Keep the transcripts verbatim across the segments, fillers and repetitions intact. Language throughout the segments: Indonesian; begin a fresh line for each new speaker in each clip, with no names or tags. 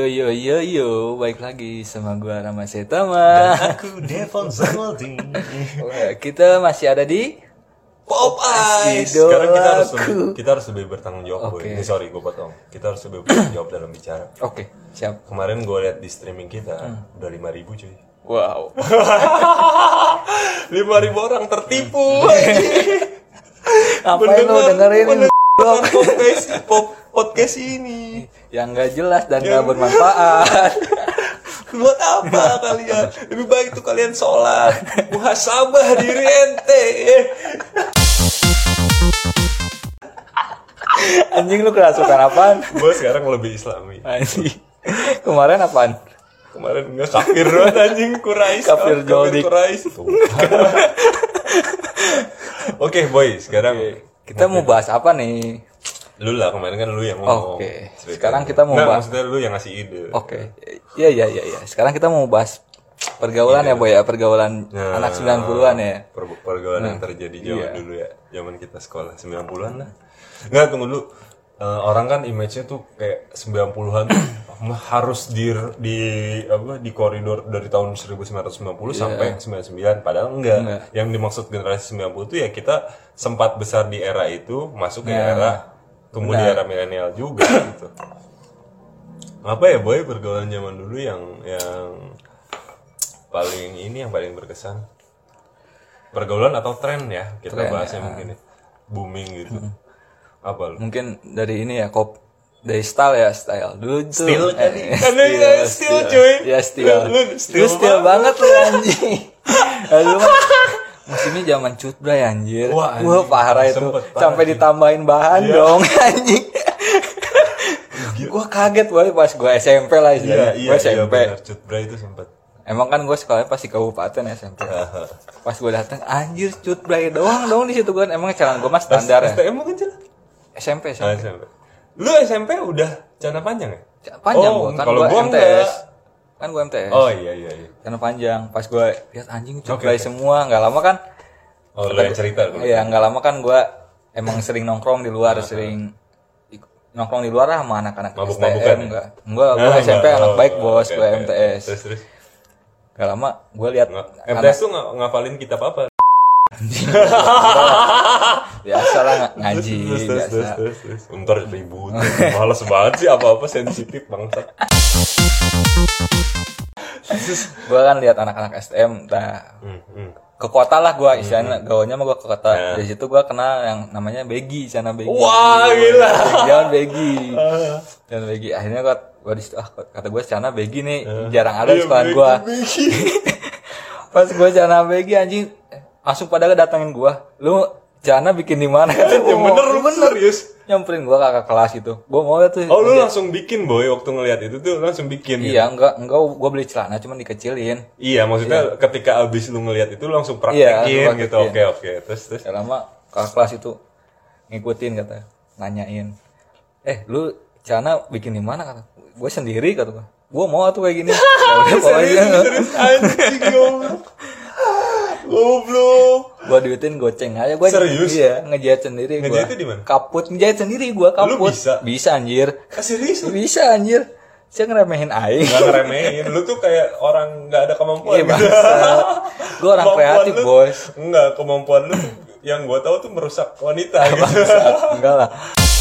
Yo yo yo yo, baik lagi sama gua Rama Setama.
Dan aku Devon Zamaldin.
Kita masih ada di
Pop Ice. Sekarang kita harus lebih, kita harus lebih bertanggung jawab.
Oke.
Okay. Ini sorry gue potong. Kita harus lebih bertanggung jawab dalam bicara.
Oke, okay, siap.
Kemarin gue lihat di streaming kita hmm. udah lima ribu cuy.
Wow.
lima ribu orang tertipu.
Ngapain lu dengerin
podcast, pop, podcast ini
yang nggak jelas dan nggak bermanfaat.
Buat apa kalian? Lebih baik tuh kalian sholat, muhasabah diri ente.
Anjing lu kerasukan apaan?
Gue sekarang lebih Islami.
Anjing. Kemarin apaan?
Kemarin enggak kafir banget anjing, Quraisy.
Kafir Joldik.
Quraisy. Oke, boy, sekarang
kita mau bahas apa nih?
Lu lah, kemarin kan lu yang ngomong.
Oke. Sekarang kita mau
nah,
bahas.
Maksudnya lu yang ngasih ide.
Oke. Iya iya iya iya. Sekarang kita mau bahas pergaulan ya, Boy ya, pergaulan nah, anak sembilan puluhan ya.
Per- pergaulan nah, yang terjadi zaman
iya.
dulu ya. Zaman kita sekolah sembilan puluhan lah. Enggak, tunggu dulu. Uh, orang kan image-nya tuh kayak sembilan puluhan tuh harus di di apa di koridor dari tahun seribu sembilan ratus sembilan puluh yeah. sampai sembilan puluh sembilan, padahal enggak. enggak. Yang dimaksud generasi sembilan puluh itu ya kita sempat besar di era itu, masuk ke yeah. era tumbuh di era milenial juga gitu. Apa ya boy pergaulan zaman dulu yang yang paling ini yang paling berkesan? Pergaulan atau tren ya? Kita tren, bahasnya ya. Mungkin ya. Booming gitu. Hmm. Apa lu?
Mungkin dari ini ya, kop dari style ya, style dulu tuh.
Style kan?
Eh,
Karena ya style cuy.
Ya style.
Lu
style, style banget lu anjing. Lu musimnya zaman cutbray anjir. Wah, anjing. Wah parah itu. Parah, sampai sih. Ditambahin bahan yeah. dong anjing. Gua kaget boy pas gua S M P lah istilahnya.
Iya,
gua S M P.
Iya, cutbray itu sempet.
Emang kan gua sekolahnya pasti kabupaten S M P. Pas gua datang anjir cutbray doang dong di situ kan. Emang celana gua mah standar ya.
S T M bukan celana?
S M P, S M P.
Ah, S M P. Lu S M P udah celana panjang ya?
Panjang
oh,
gua kan
gua
gua M T S. Enggak. Kan gua M T S.
Oh iya iya iya.
Celana panjang. Pas gua lihat anjing cutbray okay, semua, enggak lama kan.
Oh, lu yang cerita dulu.
Iya, enggak lama kan gua emang sering nongkrong di luar, uh-huh. sering nongkrong di luar lah sama anak-anak S T M enggak. Enggak, gua nah, S M P anak oh, baik bos, okay, gua M T S.
Terus terus.
Enggak lama gua lihat
M T S tuh ng- ngafalin kitab apa?
Biasa lah ngaji
terus, terus,
biasa.
Terus, terus, terus. Ntar ribut. Males banget sih apa-apa sensitif bangsat.
Gua kan lihat anak-anak S T M nah, hmm, hmm. ke kota lah gua istilahnya hmm. gaulnya mah gua ke kota. Yeah. Dari situ gua kenal yang namanya Begi, sana Begi.
Wah, gila.
Jangan Begi. Jangan Begi. Akhirnya gua gua di situ ah, kata gua sana Begi nih uh. jarang ada di sekolah gua. Pas gua sana Begi anjing langsung pada datangin gua. Lu Jana bikin di mana?
Ya bener lu bener, serius.
Nyamperin gua kakak kelas itu. Gua mau tuh.
Oh, lu langsung bikin boy waktu ngelihat itu tuh langsung bikin.
Iya, gitu. enggak enggak gua beli celana cuman dikecilin.
Iya, maksudnya iya. ketika abis lu ngelihat itu langsung praktekin iya, gitu. Oke, oke. Terus terus.
Ya lama kakak kelas itu ngikutin kata, nanyain. Eh, lu celana bikin di mana kata? Gua sendiri kata gua. Gua mau tuh kayak gini. Ya udah
serius, anjing goblok. Goblok.
Gua duitin goceng aja gua. Serius? Iya, ngejahit sendiri gua.
Ngejahitnya di mana?
Kaput ngejahit sendiri gua kaput.
Lu bisa?
Bisa anjir.
Ah, serius?
Bisa anjir. Saya ngeremehin aing.
Enggak ngeremehin. Lu tuh kayak orang enggak ada kemampuan.
Iya, gitu. Gua orang kreatif, lu, bos.
Enggak, kemampuan lu yang gua tahu tuh merusak wanita gitu.
Enggak lah.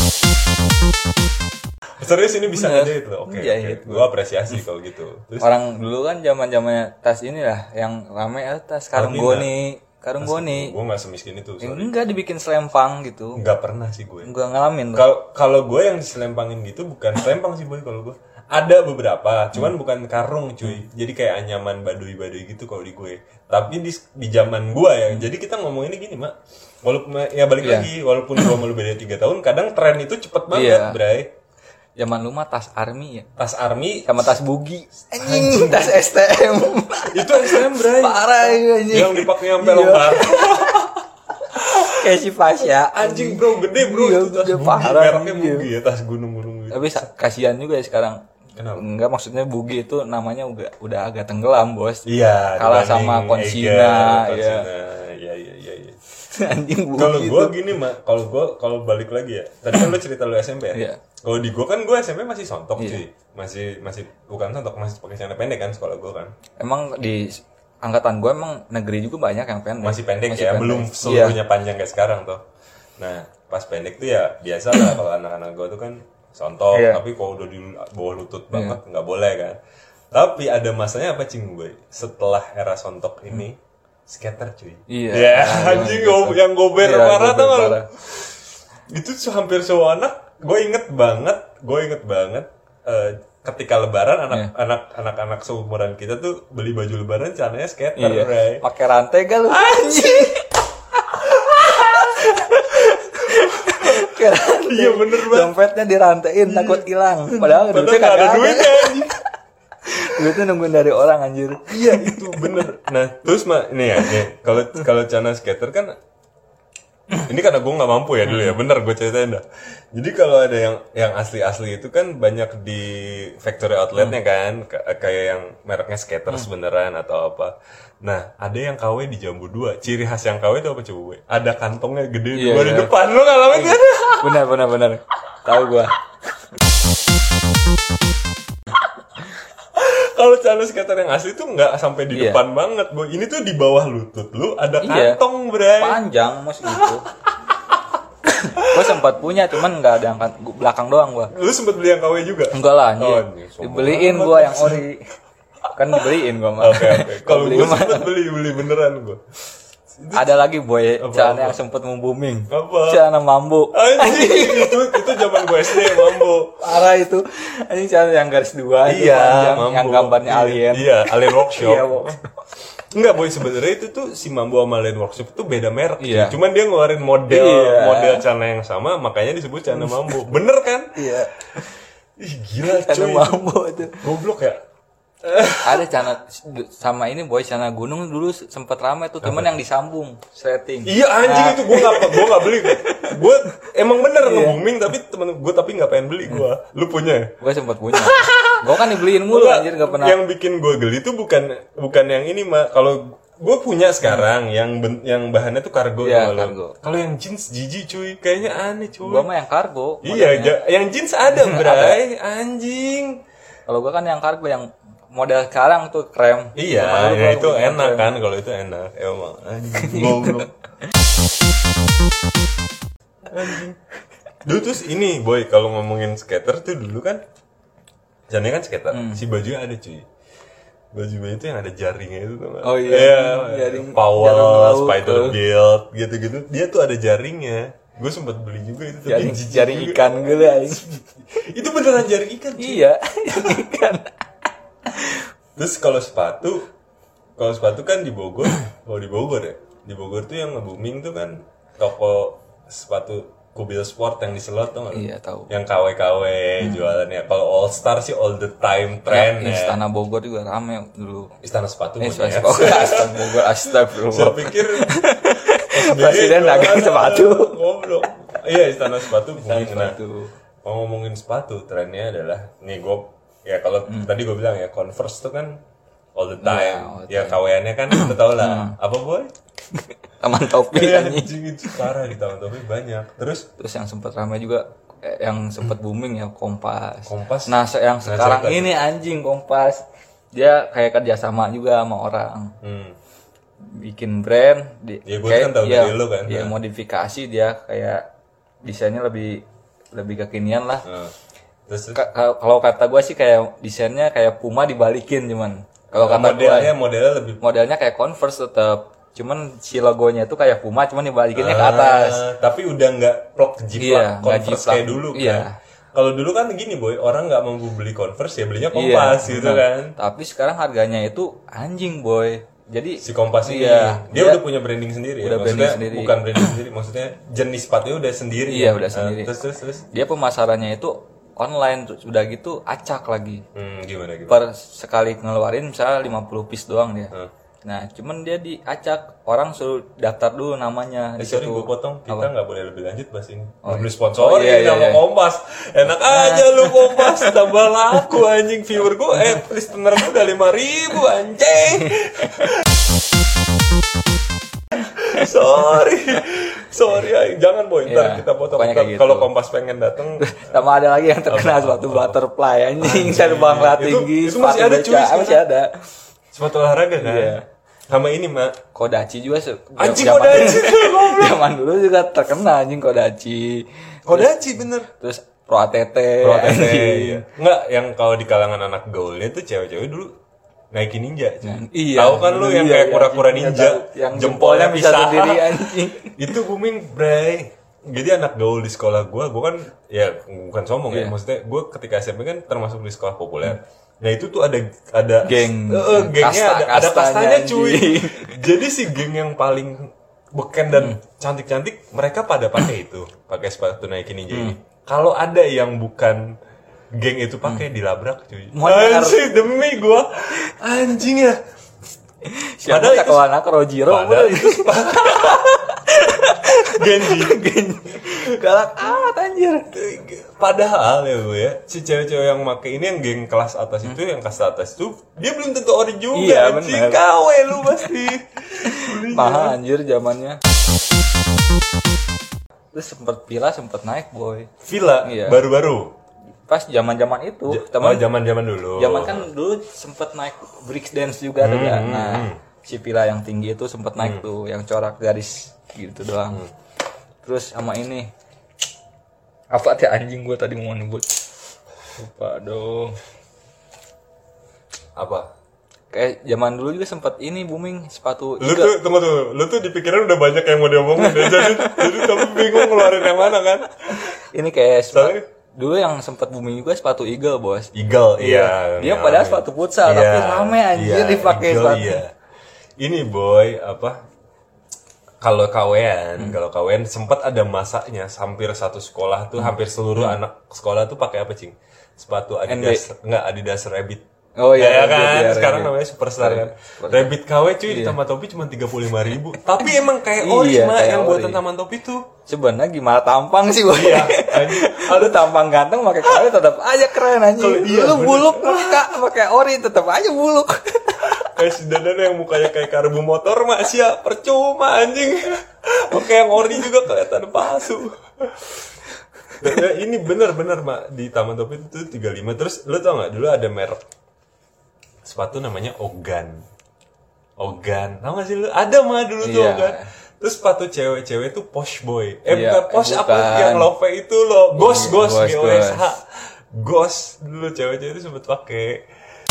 Serius ini bisa ngejahit loh. Oke. Okay, okay. Gua apresiasi kalau gitu.
Terus, orang dulu kan zaman-zamannya tas ini lah yang rame ya tas karung goni, karung goni.
Gua enggak semiskin itu, sorry.
Enggak dibikin selempang gitu.
Enggak pernah sih gue.
Enggak ngalamin.
Kalau kalau gue yang diselempangin gitu bukan selempang sih boy kalau gue. Ada beberapa, cuman hmm. bukan karung cuy. Jadi kayak anyaman baduy-baduy gitu kalau di gue. Tapi di di zaman gue ya. Hmm. Jadi kita ngomong ini gini, Mak. Walaupun ya balik yeah. lagi, walaupun gue malu beda tiga tahun, kadang tren itu cepet banget, yeah. Bray.
Zaman lu mah tas army ya.
Tas army
sama tas bugi. Anjing, tas S T M.
Itu S T M, Bray.
Parah anjing.
Yang dipakai sampai longgar.
Kayak si Fasya.
Anjing, bro, gede, bro.
Iya,
itu tas bugi.
Parah.
Mereknya bugi ya, tas gunung-gunung gitu.
Tapi kasihan juga ya sekarang.
Kenapa?
Enggak, maksudnya bugi itu namanya udah udah agak tenggelam, bos.
Iya.
Kalah sama Konsina,
ya. Iya, iya, iya, iya.
Anjing bu.
Kalau gue gini mah, kalau gue kalau balik lagi ya. Tadi kan lu cerita lu S M P ya.
Iya.
Kalau di gue kan gue S M P masih sontok
Iya.
cuy. Masih masih bukan sontok, masih pakai celana pendek kan sekolah gue kan.
Emang di angkatan gue emang negeri juga banyak yang pendek.
Masih pendek
Masih
ya,
pendek.
belum seluruhnya panjang kayak sekarang tuh. Nah, pas pendek tuh ya biasa lah kalau anak-anak gue tuh kan sontok,
Iya.
tapi kalau udah di bawah lutut banget nggak boleh kan. Tapi ada masanya apa cing gue? Setelah era sontok ini, skater cuy.
Iya.
Ya,
Nah,
anjing
gitu.
go- yang gober
Iya,
parah
gober
tau gak?
parah.
Itu tuh hampir semua anak, gue inget banget, gue inget banget eh, ketika lebaran anak
Iya.
anak anak anak seumuran kita tuh beli baju lebaran celananya skater,
Iya.
Bray.
Pakai rantai gak lu?
Anjing.
Pakai rantai.
Iya bener banget.
Dompetnya dirantain takut hilang. Padahal
Padahal
duitnya
nggak ada
kagak
duitnya anjing.
Duitnya nungguin dari orang anjir.
Iya itu bener. Nah terus mah ini ya, nih kalau kalau celana skater kan, ini karena gue nggak mampu ya dulu ya, bener gue ceritain dah. Jadi kalau ada yang yang asli-asli itu kan banyak di factory outletnya kan, K- kayak yang mereknya skaters beneran atau apa. Nah ada yang K W di Jambu dua. Ciri khas yang K W itu apa coba gue? Ada kantongnya gede
Iya,
dua di
iya.
depan, lo ngalamin kan?
Benar benar benar. Tahu gua.
Kalau celana skater yang asli tuh nggak sampai di
Iya.
depan banget, boy. Ini tuh di bawah lutut lu ada
Iya.
kantong, bray.
Panjang mas gitu. Gua sempat punya cuman nggak ada yang kan- gua- belakang doang gua.
Lu sempet beli yang K W juga?
Enggak lah anjir.
Oh, anjir, sombong
Dibeliin
banget.
gua yang ori. Kan dibeliin gua mah.
Oke oke. Kalau
Beli
gue
mah.
sempet beli beli beneran gue.
Ada lagi boy,
Apa,
celana
apa?
yang sempet membuming.
Apa?
Celana mambo.
Anjing itu itu zaman gue S D mambo.
Parah itu. Ini celana yang garis dua itu panjang,
mambo.
yang gambarnya
Iya,
alien.
Iya, alien workshop.
Iya, workshop.
Enggak boy, sebenarnya itu tuh si Mambo sama Alien Workshop itu beda merek.
Iya.
Cuman dia ngeluarin model
Iya.
model celana yang sama, makanya disebut celana Mambo. Bener kan?
Iya.
Ih gila
Celana
cuy.
mambo itu.
Goblok ya.
Ada celana sama ini boy, celana gunung dulu sempet ramai tuh, cuman yang disambung, setting.
Iya anjing
Nah,
itu gue nggak gue nggak beli. Gue emang bener
Iya.
nge-booming tapi temen gue tapi nggak pengen beli gue. Lu punya? Ya?
Gue sempet punya. Gue kan dibeliin mulu
Enggak,
anjir, gak pernah.
Yang bikin gue geli tuh bukan bukan yang ini mah. Kalau gue punya sekarang yang ben, yang bahannya tuh kargo.
Iya,
kalau-
kargo.
Kalau yang jeans jijik cuy, kayaknya aneh cuy.
Gue mah yang kargo.
Iya,
modelnya.
ja- yang jeans ada bray, anjing.
Kalau gue kan yang kargo yang model sekarang tuh krem.
Iya,
Kalau
ya
gua
itu
punya
enak
krem.
kan kalau itu enak. Emang anjing. Goblok. Anjing. Dulu terus ini boy kalau ngomongin skater tuh dulu kan, jangan kan skater,
Hmm.
si bajunya ada cuy. Baju baju itu yang ada jaringnya itu tuh nggak?
Oh iya,
jaring
jaring-
Powell,
jaring laut
Spider
tuh.
Build gitu-gitu. Dia tuh ada jaringnya. Gue sempet beli juga itu. tapi
Jaring,
jijik
jaring
juga.
ikan gitu anjing.
Itu beneran jaring ikan. Cuy.
Iya, jaring ikan.
Terus kalau sepatu, kalau sepatu kan di Bogor, kalau di Bogor ya, di Bogor tuh yang nge-booming tuh kan toko sepatu Kubil Sport yang di Selot tuh nggak?
Iya, tahu.
Yang K W K W jualannya. Kalau All Star sih all the time trend ya.
Istana Bogor juga rame dulu.
Istana sepatu
Eh,
punya ya.
Istana Bogor,
Saya
astagfirullah.
pikir
Presiden dagang sepatu.
Goblok. Iya, Istana sepatu
Istana
booming. Nah,
sepatu.
mau ngomongin sepatu, trennya adalah nih gue ya kalau tadi gue bilang ya Converse tuh kan all the time.
Iya, all the
Ya K W-nya kan kita tahu lah. Apa boy?
Taman topi
Iya,
anjing.
anjing itu parah di Taman Topi banyak. Terus
Terus yang sempat ramai juga eh, yang sempat booming ya Kompas.
Kompas.
Nah, se- yang sekarang
cerita.
ini anjing Kompas. Dia kayak kerjasama juga sama orang.
hmm,
Bikin brand di,
Ya, gua kan tahu
iya,
dari lu kan.
iya,
Nah.
modifikasi dia kayak desainnya lebih lebih kekinian lah.
nah, terus
Ka- ka- Kalau kata gue sih kayak desainnya kayak Puma dibalikin cuman. Kalau kata gue
modelnya modelnya lebih
modelnya kayak Converse tetap. Cuman si logonya itu kayak Puma cuman dibalikinnya ke atas.
Ah, tapi udah nggak plok jiplak
Iya, nggak
Converse
jiplak.
kayak dulu kan.
Iya.
Kalau dulu kan gini boy, orang nggak mampu beli Converse ya belinya
Iya,
Kompas gitu
benar.
kan.
Tapi sekarang harganya itu anjing boy. Jadi
Si Kompas ini
Iya,
dia,
dia
udah punya branding sendiri
udah
ya.
branding
Maksudnya
sendiri.
bukan branding sendiri, maksudnya jenis sepatunya udah sendiri.
Iya,
ya.
udah
Nah,
sendiri.
terus terus terus.
dia pemasarannya itu online tuh udah gitu acak lagi.
Hmm, gimana gimana?
Per sekali ngeluarin misalnya lima puluh piece doang dia.
Hmm.
Nah, cuman dia diacak, orang suruh daftar dulu namanya
Eh,
di
sorry
situ.
gue potong, kita nggak boleh lebih lanjut bahas ini.
Oh,
Beli
iya.
sponsor
Oh, iya, iya,
sama
iya.
Kompas. Enak aja lu Kompas, tambah laku anjing viewer gue, eh listener gue udah lima ribu anjing. sorry sorry ay. Jangan boy ntar
Iya,
kita potong
pokoknya
kalau
gitu.
Kompas pengen datang.
Sama ada lagi yang terkenal
Apa,
sepatu
apa,
butterfly anjing, terbang lat
Itu-
tinggi,
itu masih
sepatu
ada,
beca,
cuy, sekarang.
masih ada.
Sepatu olahraga kan.
Iya.
Sama ini mak.
Kodachi juga se-
Anjing
zaman-
Kodachi.
Zaman dulu juga terkenal anjing Kodachi.
Kodachi bener.
Terus Pro A T T.
Pro A T T,
anjing.
iya. Nggak, yang kalau di kalangan anak gaulnya tuh cewek-cewek dulu Nike Ninja. cuy.
Iya.
Tahu kan lu yang
Iya,
kayak
iya,
kura-kura
iya,
ninja,
tahu. Yang jempolnya bisa
pisah.
sendiri anjing.
Itu booming, bray. Jadi anak gaul di sekolah gua, gua kan ya bukan sombong ya,
Iya.
maksudnya gua ketika S M P kan termasuk di sekolah populer. Nah itu tuh ada ada
Geng.
eh, eh, gengnya
Kasta-
ada, ada
kastanya,
kastanya cuy.
anjing.
Jadi si geng yang paling beken dan cantik-cantik mereka pada pakai itu, pakai sepatu Nike Ninja ini. Kalau ada yang bukan geng itu pakai dilabrak cuy.
Bener.
Anjing demi gua anjing ya.
Siapa
Padahal
tak
itu-
kawan aku Rojiro.
Padahal itu Genji.
Galak amat anjir.
Padahal ya bu ya, si cewek-cewek yang make ini yang geng kelas atas itu, yang kasta atas itu, dia belum tentu ori juga.
Iya,
anjing.
bener.
Kawe lu pasti.
Mahal anjir zamannya. Terus sempet Villa sempet naik boy.
Villa
Iya.
baru-baru.
Pas zaman-zaman itu,
Ja-
teman
oh, zaman-zaman dulu.
zaman kan dulu sempet naik break dance juga tuh kan.
hmm,
Nah,
hmm.
si Villa yang tinggi itu sempet naik tuh, yang corak garis gitu doang.
Hmm.
Terus sama ini apa teh anjing gua tadi mau nyebut. Lupa dong.
Apa?
Kayak zaman dulu juga sempet ini booming sepatu
Lu
Iga.
tuh tunggu tuh, lu tuh di pikiran udah banyak yang mau diomongin ya. jadi jadi kamu bingung ngeluarin yang mana kan?
Ini kayak sepatu,
Soalnya-
dulu yang sempet booming juga sepatu Eagle, Bos.
Eagle, iya.
Dia
iya.
padahal sepatu futsal, tapi rame anjir dipakai
Eagle,
sepatu.
iya. Ini boy, apa? Kalau K W-an,
Hmm.
kalau K W-an sempat ada masanya hampir satu sekolah tuh, hampir seluruh
Hmm.
anak sekolah tuh pakai apa, Cing? Sepatu Adidas, enggak Adidas Rabbit.
Oh iya,
ya
Rabbit,
kan,
iya,
sekarang
Rabbit.
namanya Superstar kan.
Superstar.
Rabbit K W cuy ditambah topi cuma tiga puluh lima ribu. Tapi emang kayak
Iya,
ori mah
kayak
yang buatan
ori.
taman topi tuh.
Sebenarnya gimana tampang sih, Boy?
Iya, anjing.
Lu tampang ganteng pakai kawe tetap aja keren anjing.
Kalau iya,
Lu
bener.
buluk muka pakai ori tetap aja buluk.
Kayak si Dadan yang mukanya kayak karbu motor mah siap percuma anjing. Oke yang ori juga kelihatan palsu. Dan ya, ini bener-bener mak di Taman Topi itu tiga puluh lima. Terus lu tau gak dulu ada merek sepatu namanya Ogan. Ogan, tau gak sih lu? Ada mah dulu tuh
Iya.
Ogan. Terus sepatu cewek-cewek itu Posh Boy. Eh
Iya,
bukan Posh
eh,
apa
bukan.
yang love itu loh. Gos Gos
Gos,
G O S H. Gos dulu cewek-cewek itu sempet pakai.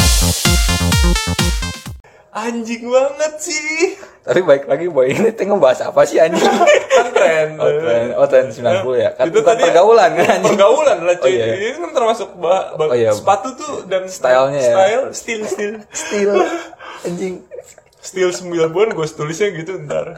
Anjing banget sih.
Tapi baik lagi Boy, ini tengah bahas apa sih anjing?
Kan tren.
Oh, tren, oh, tren sembilan puluh ya. Kan
Itu
bukan
tadi
pergaulan kan anjing.
Pergaulan lah cuy.
Oh, iya.
Ini kan termasuk bah, bah-
Oh, iya.
sepatu tuh dan
Stylenya ya.
style, style, style.
Steel anjing.
Style sembilan puluhan gue tulisnya gitu ntar.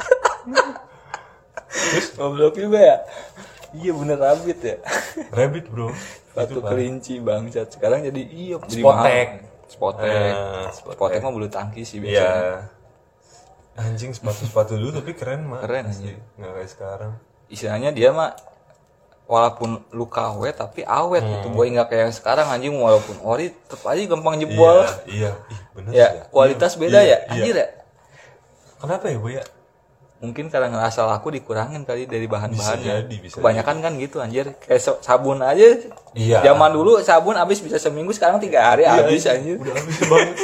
Terus goblok juga ya. Iya bener Rabbit ya.
Rabbit bro.
Sepatu
Itu, Pak.
kelinci bangsat. Sekarang jadi iya jadi
Spotek.
mahal. Spotek.
Eh, Spotek.
Spotek mah bulu tangkis sih
Iya.
biasanya.
Anjing sepatu-sepatu dulu tapi keren mah.
Keren,
Asli.
anjing.
Nggak kayak sekarang.
Istilahnya dia mah walaupun lu K W tapi awet gitu
Hmm.
boy, nggak kayak yang sekarang anjing walaupun ori tetap aja gampang jebol.
Iya, iya. Ih, bener
Ya,
sih
kualitas
Iya,
beda
iya,
ya.
iya.
Anjir ya.
Kenapa ya, Bu ya?
Mungkin karena ngerasa laku dikurangin kali dari bahan-bahannya.
Bisa jadi, bisa
Kebanyakan kan gitu anjir. Kayak so- sabun aja.
Iya.
Zaman dulu sabun habis bisa seminggu, sekarang tiga hari
Iya,
habis
iya.
anjir.
Udah habis banget.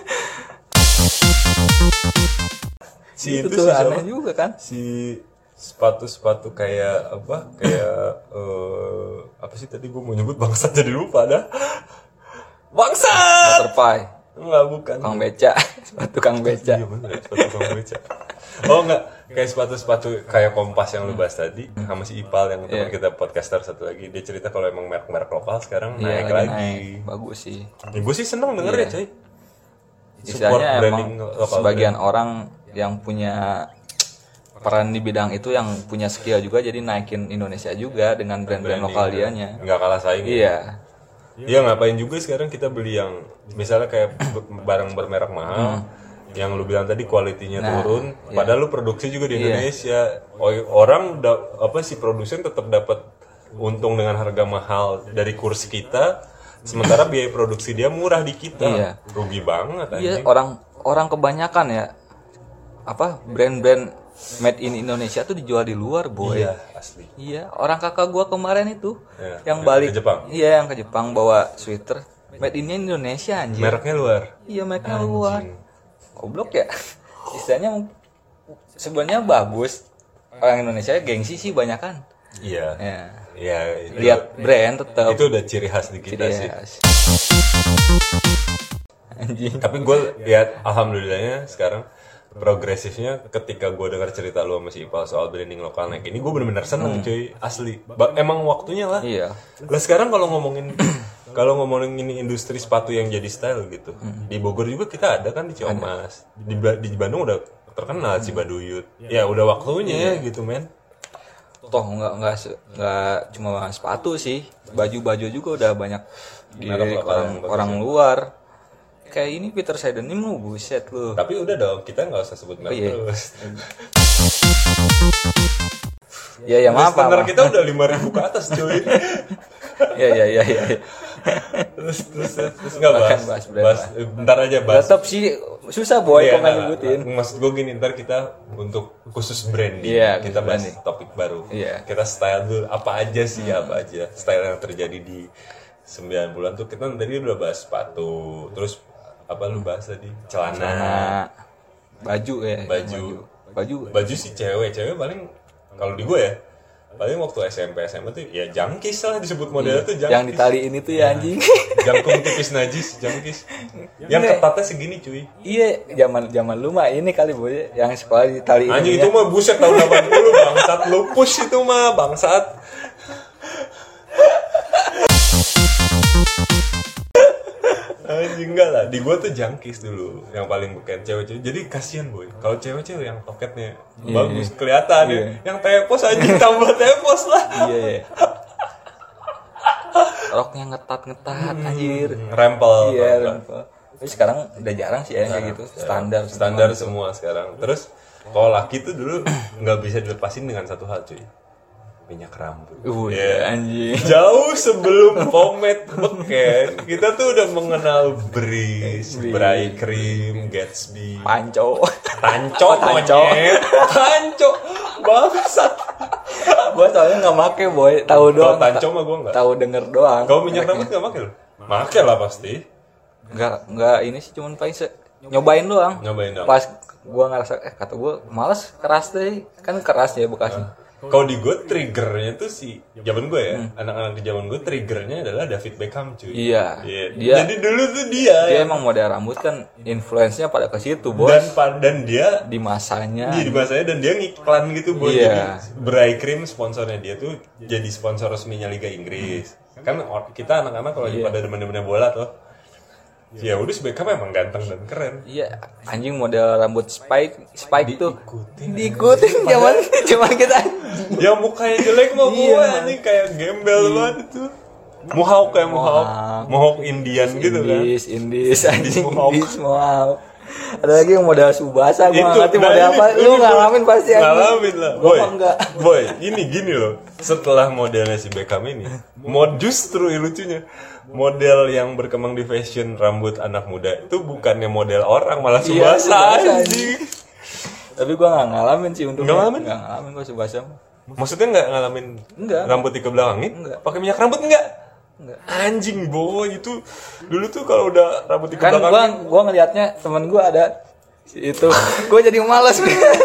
Si
Itu
itu,
tuh
sih
aneh
siapa?
juga kan.
Si sepatu-sepatu kayak apa? Kayak eh apa sih tadi gue mau nyebut bangsat jadi lupa dah. Bangsat.
Butterfly,
Enggak bukan.
Kang beca, sepatu Kang beca.
Iya bener, sepatu Kang beca. Oh enggak, kayak sepatu-sepatu kayak Kompas yang lu bahas tadi sama si Ipal yang teman
Iya.
kita podcaster satu lagi, dia cerita kalau emang merek-merek lokal sekarang
Iya,
naik
lagi
lagi.
naik. Bagus sih.
Ya, gue sih seneng denger
Iya.
ya, coy.
Istilahnya emang
lokal
sebagian
brand.
orang yang punya peran di bidang itu yang punya skill juga jadi naikin Indonesia juga dengan brand-brand
Branding,
lokal
ya.
dianya.
Nggak kalah saing.
Iya.
Iya ngapain juga sekarang kita beli yang misalnya kayak barang bermerek mahal, yang lu bilang tadi kualitinya
Nah,
turun,
iya.
padahal lu produksi juga di
Iya.
Indonesia. O- Orang da- apa si produsen tetap dapat untung dengan harga mahal dari kurs kita, sementara biaya produksi dia murah di kita.
Iya.
Rugi banget
Iya,
anjing.
orang orang kebanyakan ya apa brand-brand made in Indonesia tuh dijual di luar, boy.
Iya, asli.
Iya, orang kakak gua kemarin itu
Ya,
yang
ke-
balik
ke Jepang.
Iya, yang ke Jepang bawa sweater made in Indonesia anjir.
Mereknya luar.
Iya, mereknya luar. Goblok ya. Istilahnya sebenarnya bagus. Orang Indonesia gengsi sih banyakan.
Iya.
Ya.
Iya, itu-
Lihat brand tetap.
itu udah ciri khas di kita sih.
Anjing.
Tapi gue lihat alhamdulillahnya sekarang progresifnya ketika gue dengar cerita lu sama si Ipal soal branding lokal naik ini, gue bener-bener seneng cuy, asli. Ba- emang waktunya lah.
Iya.
Lah sekarang kalau ngomongin kalau ngomongin ini industri sepatu yang jadi style gitu, di Bogor juga kita ada kan di Ciamas, di, Ba- di Bandung udah terkenal Cibaduyut. Ya udah waktunya gitu men.
Toh nggak nggak se- nggak cuma sepatu sih, baju-baju juga udah banyak di
Merek lokal
orang
yang bagus
orang
ya.
luar. Kayak ini Peter Seidenim lu buset lu.
Tapi udah dong, kita nggak usah sebut merek
iya.
terus.
Ya ya maaf
Standar
maaf.
kita udah lima ribu ke atas cuy.
Ya ya ya ya.
terus terus terus nggak bahas,
Bahkan bahas brand
bahas, eh, bentar aja bahas.
Tetap sih susah boy
Iya,
komen
nah,
nyebutin.
maksud gue gini, ntar kita untuk khusus branding,
Iya,
kita
khusus
bahas
branding.
topik baru.
Iya.
Kita style dulu apa aja sih, apa aja style yang terjadi di sembilan bulan tuh. Kita tadi udah bahas sepatu, terus apa lu bahas tadi? Celana,
Nah, baju ya.
Baju.
Baju.
baju sih cewek, cewek paling kalau di gue ya, paling waktu S M P S M A tuh ya jangkis lah disebut modelnya tuh jangkis.
Yang ditaliin itu ya anjing.
Jangkung tipis najis, jangkis. Yang ketatnya segini cuy.
Iya, zaman zaman lu mah ini kali boy yang sekolah ditaliin.
Anjing
ininya.
itu mah buset tahun delapan puluh bangsat, lupus itu mah bangsat. Anjing enggak lah, di gua tuh jangkis dulu yang paling beken cewek-cewek. Jadi kasihan boy, kalau cewek-cewek yang toketnya
Iya,
bagus
iya.
kelihatan ya.
Iya.
Yang tepos anjing tambah tepos lah.
Iya, iya. Roknya ngetat-ngetat anjir.
Rempel.
Iya,
tau nggak?
rempel. Tapi sekarang udah jarang sih ya kayak gitu. Standar
Standar semua sekarang. Terus kalau laki tuh dulu nggak bisa dilepasin dengan satu hal cuy, minyak rambut.
Uh,
Iya.
anjing.
Jauh sebelum pomade beken, kita tuh udah mengenal Breeze, Bray Cream, Gatsby,
Panco.
Tanco,
Tanco.
monyet, Tanco, bangsat.
Gua soalnya nggak make boy, tahu
Kalau
doang.
Tanco mah gua nggak.
Tahu denger doang.
Kau minyak rambut nggak pakai lo? Pakai lah pasti.
Nggak nggak ini sih cuman paling se- nyobain doang.
Nyobain doang.
Pas gua ngerasa eh kata gua males keras deh, kan keras ya bekasnya.
Kalau di gue triggernya tuh si zaman gue ya, anak-anak di zaman gue triggernya adalah David Beckham cuy.
Iya.
Iya.
Dia
Jadi dulu tuh dia,
dia
yang-
emang model rambut kan influence-nya pada ke situ, Bos.
dan pa- dan dia
Di masanya.
di masanya dan dia ngiklan gitu buat
Iya.
jadi Bray Cream sponsornya dia tuh jadi sponsor resminya Liga Inggris. Kan or- kita anak-anak kalau lagi
Iya.
pada demen-demen bola tuh, ya udah si Beckham emang ganteng dan keren.
Iya, anjing model rambut spike, spike tuh
Diikutin.
diikutin zaman zaman kita.
Ya mukanya jelek mah gue
Iya.
anjing kayak gembel banget tuh. Mohawk kayak mohawk,
Mohawk.
mohawk Indian gitu kan.
Indis, Indis, anjing
Mohawk.
Indis mau. Ada lagi yang model Subasa, gua nggak ngerti
nah
model
ini-
apa.
ini
Lu
boy,
ngalamin pasti anjing.
ngalamin lah
Gua
boy
mah enggak.
boy ini gini loh, setelah modelnya si Beckham ini mod justru lucunya model yang berkembang di fashion rambut anak muda itu bukannya model orang, malah
Iya,
Subasa
Subasa,
anjing.
Tapi gua nggak ngalamin sih untuk
Nggak ngalamin?
Nggak ngalamin gua Subasa.
Maksudnya nggak ngalamin
Enggak.
rambut dikebelakangin?
Enggak.
Pakai minyak rambut enggak?
Enggak.
Anjing boy, itu dulu tuh kalau udah rambut
Kan gua
dikebelakangin
gua ngelihatnya temen gua ada si itu. Gua jadi malas.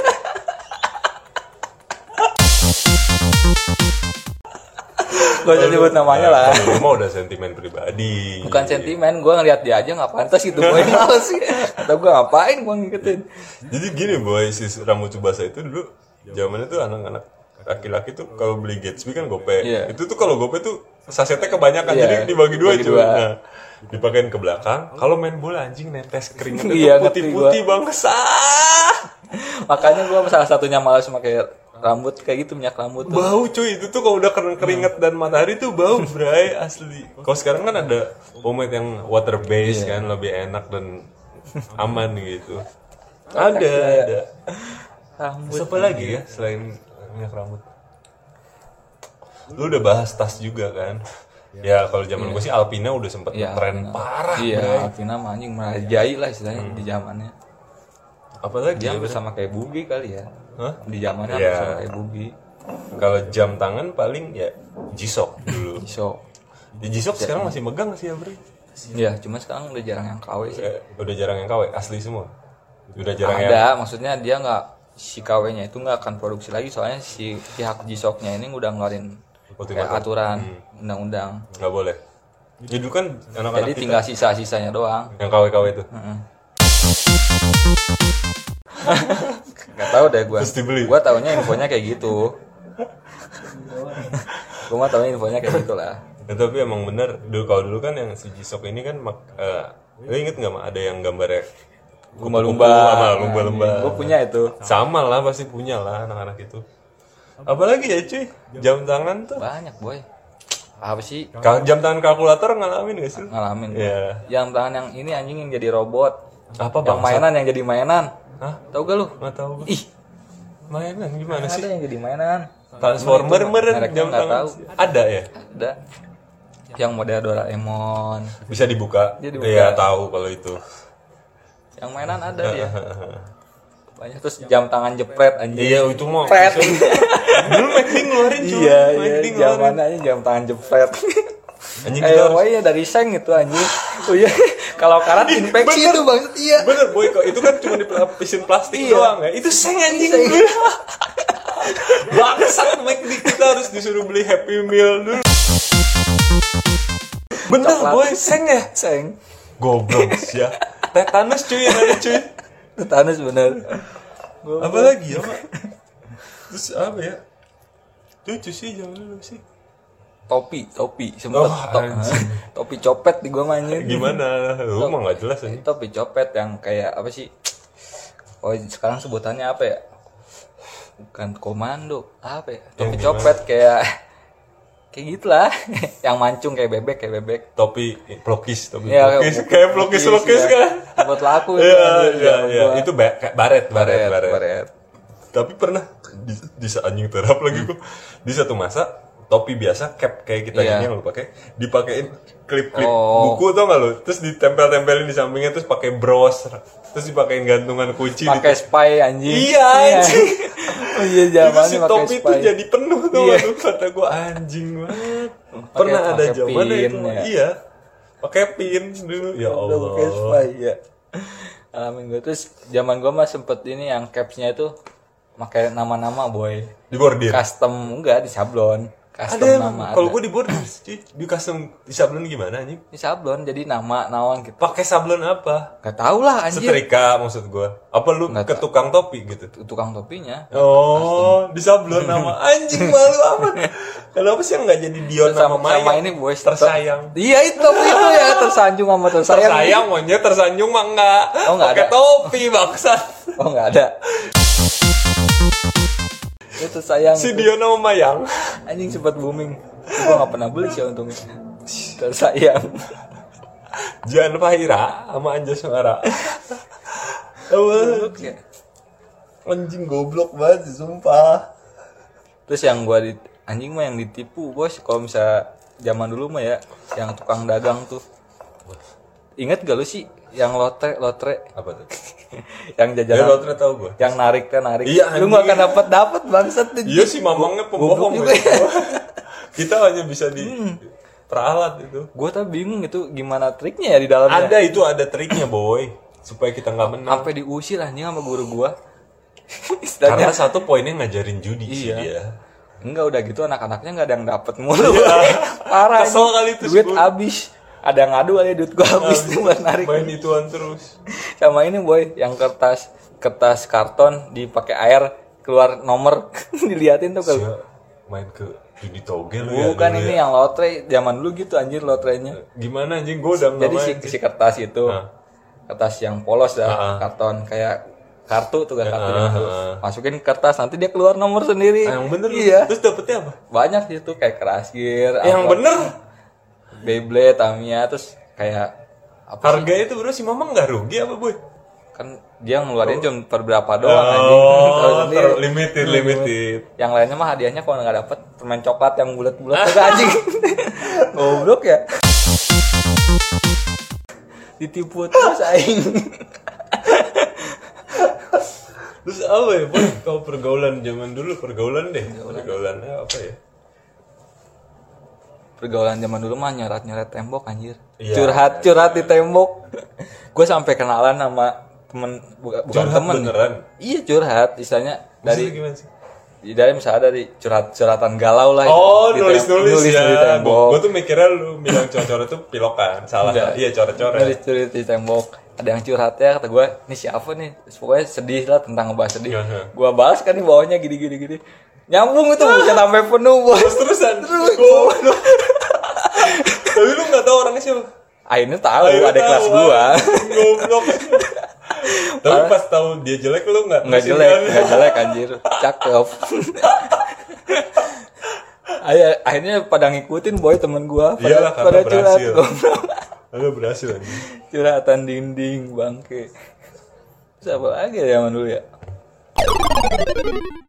Gua usah nyebut namanya lah.
Kalau lu mah udah sentimen pribadi.
Bukan sentimen, gue ngeliat dia aja nggak pantas gitu, boy males sih. Atau gue ngapain gue ngikutin?
Jadi gini boy, si rambut Tsubasa itu dulu zamannya tuh anak-anak laki-laki tuh kalau beli Gatsby kan gope.
Iya.
Itu tuh kalau gope tuh sasetnya kebanyakan,
Iya,
jadi dibagi dua
bagi
cuy.
dua.
Nah, dipakein ke belakang. Kalau main bola anjing netes keringet
Iya,
itu putih-putih bangsa.
Makanya gue salah satunya malas pakai rambut kayak gitu, minyak rambut tuh.
Bau cuy, itu tuh kalau udah kering keringet dan matahari tuh bau bray asli. Kalau sekarang kan ada pomade yang water based
Iya.
kan, lebih enak dan aman gitu. Ada, ada.
Rambut.
Terus apa lagi ya selain minyak rambut? Lu udah bahas tas juga kan? Ya kalau zaman gue sih Alpina udah sempet
Iya,
tren
Alpina.
parah.
Iya,
Bray.
Alpina mah anjing merajai lah istilahnya di zamannya.
Apalagi
Dia
ya,
hampir sama kayak Bugi kali ya.
Hah?
Di zamannya
Iya.
yeah. kayak Bugi.
Kalau jam tangan paling ya G-Shock dulu.
G-Shock.
Di G-Shock sekarang masih megang sih ya, Bre?
Iya, cuma sekarang udah jarang yang K W sih.
Eh, udah jarang yang K W, asli semua. Udah jarang
Ada,
yang
maksudnya dia nggak si K W-nya itu nggak akan produksi lagi soalnya si pihak G-Shock-nya ini udah ngeluarin kayak aturan hmm. undang-undang.
Nggak boleh. Jadi dulu kan anak-anak
Jadi
kita
tinggal sisa-sisanya doang.
yang K W K W itu.
Heeh. Gak tahu deh gue. Gue taunya infonya kayak gitu. Gue mah taunya infonya kayak gitulah.
Ya, tapi emang bener dulu kalau dulu kan yang si G-Shock ini kan mak, uh, lo inget nggak Mak, ada yang gambarnya
lumba-lumba
sama lumba-lumba.
Gue punya itu.
Sama lah, pasti punya lah anak-anak itu. Apalagi ya cuy, jam tangan tuh
banyak boy. Apa sih?
Ka- jam tangan kalkulator ngalamin gak sih?
Ngalamin.
Iya.
Jam tangan yang ini anjing yang jadi robot.
Apa
Yang
bang?
mainan yang jadi mainan.
Hah?
Tahu gak lu?
Nggak tahu.
Ih,
Mainan gimana
ada
sih?
yang jadi mainan.
Transformer meren
Mereknya
jam
nggak
tangan.
tahu.
Ada ya?
Ada. Yang model Doraemon.
Bisa dibuka?
Dia dibuka.
Iya tahu kalau itu.
Yang mainan ada dia. Banyak terus jam tangan jepret anjing.
Iya itu mah.
Jepret.
Dulu McD ngeluarin cuy.
Iya, iya,
McD ngeluarin.
zaman aja jam tangan jepret.
Anjing
Eh,
kita harus-
wah dari seng itu anjing. Oh iya, kalau karat infeksi
bener.
itu banget iya.
Bener boy kok itu kan cuma dilapisin plastik
Iya.
doang ya. Itu seng anjing.
Seng.
Bangsat McD kita harus disuruh beli Happy Meal dulu. Bener
Coklat.
boy seng ya.
Seng.
Goblok ya. Tetanus cuy yang ada cuy.
Tetanus bener.
Apa lagi ya Pak? Terus apa ya? Lucu sih zaman dulu sih.
Topi, topi sempet
Oh,
to-
anjing.
topi copet di gua mainnya.
Gimana? Lu mah nggak jelas aja.
Topi copet yang kayak apa sih? Oh, sekarang sebutannya apa ya? Bukan komando, apa ya? Topi
Yang
copet kayak kayak gitulah. Yang mancung kayak bebek, kayak bebek.
Topi plokis, topi
Ya,
plokis, kayak plokis plokis
ya.
kan?
Buat laku itu.
Iya,
anjing,
iya,
zaman
iya.
gua.
Itu ba- kayak baret, baret,
baret,
baret.
baret.
Tapi pernah di, di saat anjing terap lagi gua. Di satu masa topi biasa cap kayak kita
Iya.
ini yang lu pakai, dipakein klip-klip
Oh.
buku tau gak lu? Terus ditempel-tempelin di sampingnya terus pakai bros, terus dipakein gantungan kunci.
Pakai
di-
spy anjing.
Iya, anjing.
Oh iya
Itu
zaman
si topi itu jadi penuh tuh
Iya.
aduh, kata gua anjing banget. Pernah ada
pakai
zaman
pin,
itu.
ya.
Iya. Pakai pin dulu ya Allah.
Pakai spy ya. Alamin gue terus zaman gue mah sempet ini yang capsnya itu pakai nama-nama boy.
Di bordir.
Custom enggak di sablon. Custom
Ada
nama
kalau
ada.
gue di bordir cuy, di custom di sablon gimana anjing?
Di sablon jadi nama nawan gitu.
Pakai sablon apa?
Gak tau lah anjir.
Setrika maksud gue. Apa lu
Nggak
ke
tahu.
tukang topi gitu?
Tukang topinya.
Oh, di sablon nama anjing malu amat. Kenapa sih yang nggak jadi Dion
Terus
nama
sama,
Maya?
sama ini boy
tersayang.
Iya itu itu ya tersanjung sama tersayang.
Tersayang monyet tersanjung mah enggak.
Oh, nggak
Pakai
ada.
topi bangsat.
Oh nggak ada. Itu tersayang.
Si Dion sama Mayang.
Anjing sempat booming. Gue gak pernah beli sih untungnya. Tersayang.
Jan Fahira sama Anjasmara.
Goblok ya.
Anjing goblok banget sih, sumpah.
Terus yang gua di anjing mah yang ditipu bos kalau misalnya zaman dulu mah ya yang tukang dagang tuh. Ingat gak lu sih yang lotre lotre
Apa tuh?
yang
Ya
jajanan
lo ternyata tahu gue.
yang narik teh narik.
Iya,
Lu
anjing.
gak akan dapat dapat bangsat tuh.
Iya sih mamangnya pembohong
Goblok juga
ya.
ya.
Kita hanya bisa di peralat itu.
Gua tuh bingung itu gimana triknya ya di dalamnya.
Ada itu ada triknya boy supaya kita nggak menang.
Sampai diusir anjing sama guru gua.
Karena
Istilahnya
satu poinnya ngajarin judi sih
Iya.
dia.
enggak udah gitu anak-anaknya enggak ada yang dapat mulu. Parah.
Kesel
anjing.
kali itu si
Duit
guru.
habis. Ada yang ngadu kali duit gua habis tuh buat narik.
Main ituan terus.
Sama ini boy yang kertas kertas karton dipakai air keluar nomor diliatin tuh kalau
Siap, main ke judi togel lu ya.
bukan
dulu
ini
ya.
yang lotre zaman dulu gitu anjir lotrenya.
Gimana anjing gue udah nggak
Jadi si,
main.
si kertas itu
Hah.
kertas yang polos dah
Ah.
karton kayak kartu tuh kan kartu
Ah,
gitu.
ah.
Masukin kertas nanti dia keluar nomor sendiri.
Ah, yang bener lu.
Iya.
Terus dapetnya apa?
Banyak sih tuh kayak Kerasgir,
Yang
apa,
bener.
Beyblade, Tamiya terus kayak apa sih?
Harga itu bro si mama nggak rugi apa boy?
Kan dia ngeluarin cuma per berapa doang anjing. Tahu
Oh,
sendiri.
ter- limited, limited.
Yang lainnya mah hadiahnya kalau nggak dapet permen coklat yang bulat-bulat juga anjing. Goblok ya. Ditipu terus aing.
Terus apa ya, Boy? Kalau pergaulan zaman dulu, pergaulan deh. Pergaulannya apa ya?
Pergaulan zaman dulu mah nyoret-nyoret tembok anjir.
Iya.
Curhat-curhat di tembok. Gue sampai kenalan sama temen bukan, bukan
Curhat
temen.
beneran?
Iya curhat, istilahnya
Dari
dari
gimana sih?
dari misalnya dari curhat-curhatan galau lah.
Oh,
di
nulis-nulis
tem-
ya.
di tembok.
Gue tuh mikirnya lu bilang coret-coret tuh pilokan. Salah.
Enggak.
Iya, coret-coret.
Nulis-nulis di tembok. Ada yang curhatnya, kata gue, ini siapa nih? Pokoknya sedih lah, tentang ngebahas sedih.
Iya.
Gue balas kan di bawahnya gini-gini gini. Nyambung itu bisa sampai penuh, Bos.
Terus-terusan. Goblok. Tapi lu enggak tahu orangnya siapa?
Akhirnya tahu
Akhirnya
ada kelas
tahu,
gua.
Goblok. Tapi pas tahu dia jelek lu enggak?
Nggak jelek, nggak jelek anjir. Cakep. Ayo, akhirnya pada ngikutin boy temen gua pada,
Iyalah, karena
pada curhat.
berhasil.
Goblok.
Lu berhasil anjing.
Curhatan dinding bangke. Siapa lagi ya zaman dulu ya?